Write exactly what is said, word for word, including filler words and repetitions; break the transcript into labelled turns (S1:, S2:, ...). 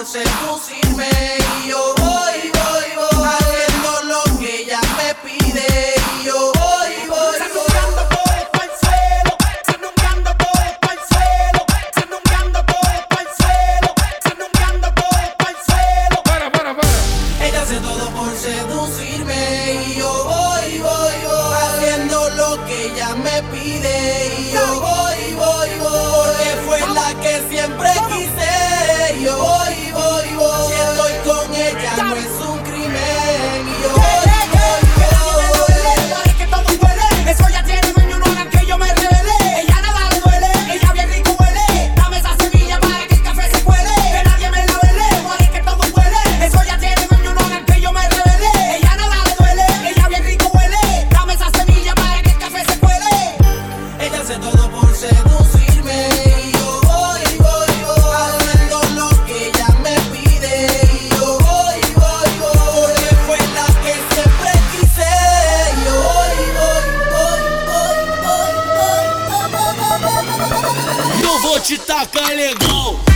S1: seducirme. Y yo voy, voy, voy, haciendo lo que ella me pide. Y yo voy, voy,
S2: Sandungueando todo esto al suelo, sandungueando todo esto al suelo, sandungueando todo esto al suelo, sandungueando todo esto al suelo.
S3: Para, para, para.
S1: ella hace todo por seducirme. Y yo voy, voy, voy, haciendo lo que ella me pide. Y yo voy, voy, voy, porque fue la que siempre quise. Y yo voy, voy, voy, si estoy con ella no es un crimen. Y yo voy, voy, voy.
S2: Es que todo huele, eso ya tiene dueño, no hagan que yo me revele. Ella nada le duele, ella bien rico huele. Dame esa semilla para que el café se cuele. Que nadie me la vele, es que todo huele. Eso ya tiene dueño, no hagan que yo me revele. Ella nada le duele, ella bien rico huele. Dame esa semilla para que el café se cuele.
S1: ella hace todo por seducirme. Y yo voy, voy, voy, haciendo lo que ella me pide. Y yo voy, voy, voy, porque fue la que siempre quise. Y yo voy, voy, voy, voy, voy, voy, voy, voy, voy, voy.
S4: Eu vou te tacar legal.